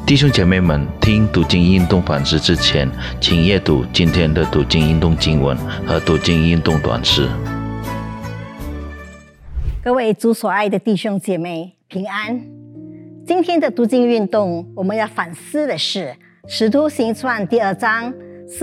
弟兄姐妹们，听读经运动反思之前，请阅读今天的读经运动经文和读经运动短诗。 各位主所爱的弟兄姐妹平安。今天的读经运动，我们要反思的是《使徒行传》第2章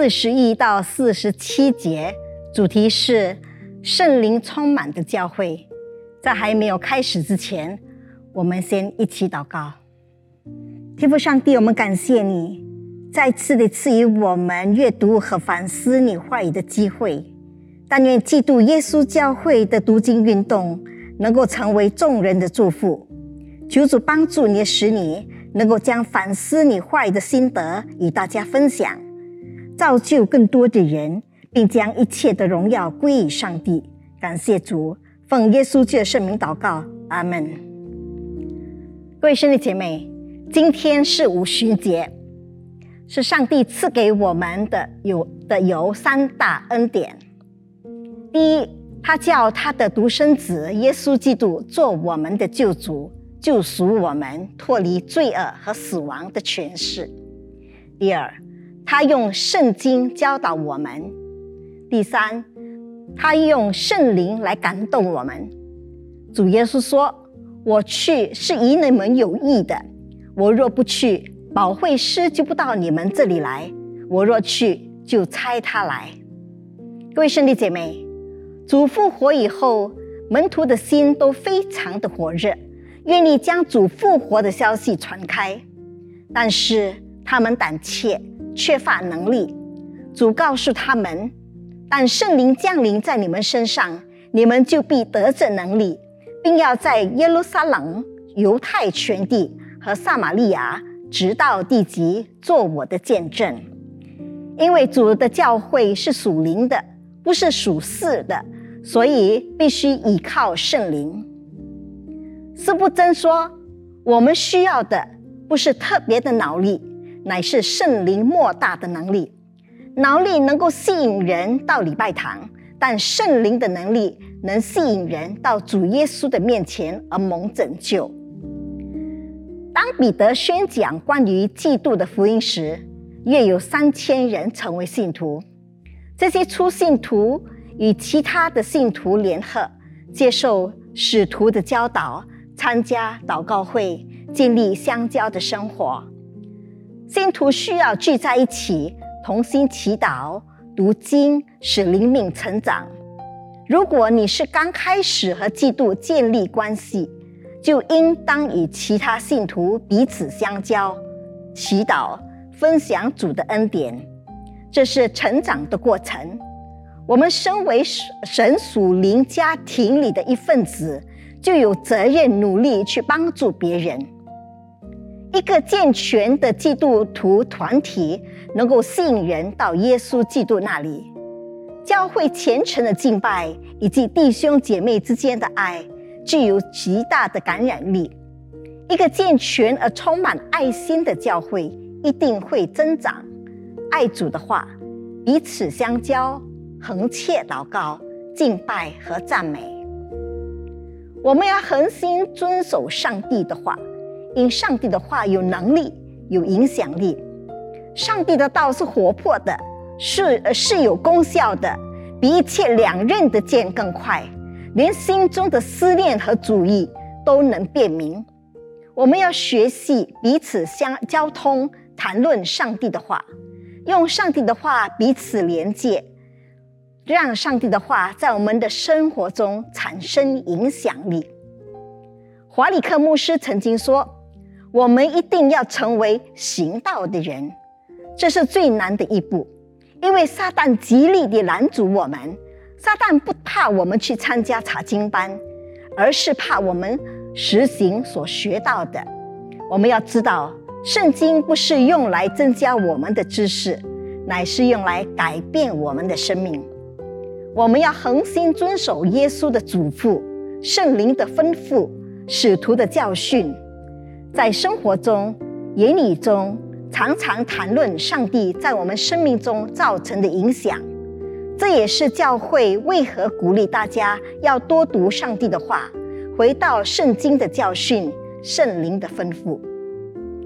41到47节，主题是圣灵充满的教会。在还没有开始之前，我们先一起祷告。天父上帝，我们感谢你再次的赐予我们阅读和反思你话语的机会。但愿基督耶稣教会的读经运动能够成为众人的祝福。求主帮助你，使你能够将反思你话语的心得与大家分享，造就更多的人，并将一切的荣耀归于上帝。感谢主，奉耶稣基督的圣名祷告，阿们。各位兄弟姐妹，今天是五旬节，是上帝赐给我们的有三大恩典。第一，他叫他的独生子耶稣基督做我们的救主，救赎我们脱离罪恶和死亡的权势。第二，他用圣经教导我们。第三，他用圣灵来感动我们。主耶稣说，我去是以你们有益的，我若不去，保惠师就不到你们这里来，我若去，就差他来。各位兄弟姐妹，主复活以后，门徒的心都非常的火热，愿意将主复活的消息传开，但是他们胆怯，缺乏能力。主告诉他们，但圣灵降临在你们身上，你们就必得着能力，并要在耶路撒冷、犹太全地和撒玛利亚直到地极做我的见证。因为主的教会是属灵的，不是属世的，所以必须依靠圣灵。司布真说，我们需要的不是特别的脑力，乃是圣灵莫大的能力。脑力能够吸引人到礼拜堂，但圣灵的能力能吸引人到主耶稣的面前而蒙拯救。当彼得宣讲关于基督的福音时，约有3000人成为信徒。这些初信徒与其他的信徒联合，接受使徒的教导，参加祷告会，建立相交的生活。信徒需要聚在一起，同心祈祷、读经，使灵命成长。如果你是刚开始和基督建立关系，就应当与其他信徒彼此相交、祈祷、分享主的恩典。这是成长的过程。我们身为神属灵家庭里的一份子，就有责任努力去帮助别人。一个健全的基督徒团体能够吸引人到耶稣基督那里。教会虔诚的敬拜以及弟兄姐妹之间的爱具有极大的感染力。一个健全而充满爱心的教会一定会增长。爱主的话，彼此相交，恒切祷告、敬拜和赞美。我们要恒心遵守上帝的话，因上帝的话有能力、有影响力。上帝的道是活泼的，是有功效的，比一切两刃的剑更快，连心中的思念和主意都能辨明。我们要学习彼此交通，谈论上帝的话，用上帝的话彼此连接，让上帝的话在我们的生活中产生影响力。华里克牧师曾经说，我们一定要成为行道的人，这是最难的一步，因为撒旦极力地拦阻我们。撒旦不怕我们去参加查经班，而是怕我们实行所学到的。我们要知道，圣经不是用来增加我们的知识，乃是用来改变我们的生命。我们要恒心遵守耶稣的嘱咐、圣灵的吩咐、使徒的教训，在生活中、言语中常常谈论上帝在我们生命中造成的影响。这也是教会为何鼓励大家要多读上帝的话，回到圣经的教训、圣灵的吩咐。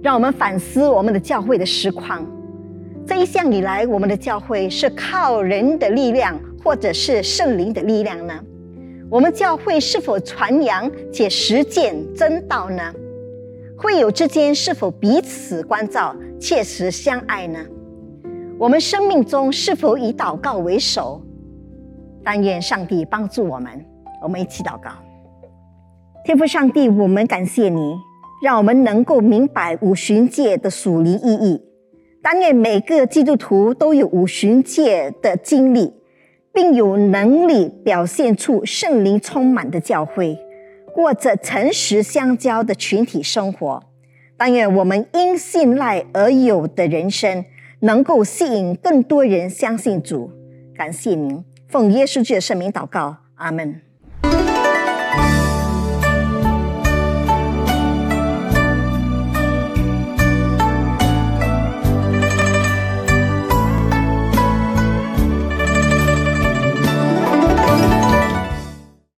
让我们反思我们的教会的实况。这一向以来，我们的教会是靠人的力量，或者是圣灵的力量呢？我们教会是否传扬且实践真道呢？会友之间是否彼此关照、切实相爱呢？我们生命中是否以祷告为首？但愿上帝帮助我们。我们一起祷告。天父上帝，我们感谢你，让我们能够明白五旬节的属灵意义。但愿每个基督徒都有五旬节的经历，并有能力表现出圣灵充满的教会，过着诚实相交的群体生活。但愿我们因信赖而有的人生，能够吸引更多人相信主。感谢您，奉耶稣基督的圣名祷告，阿们。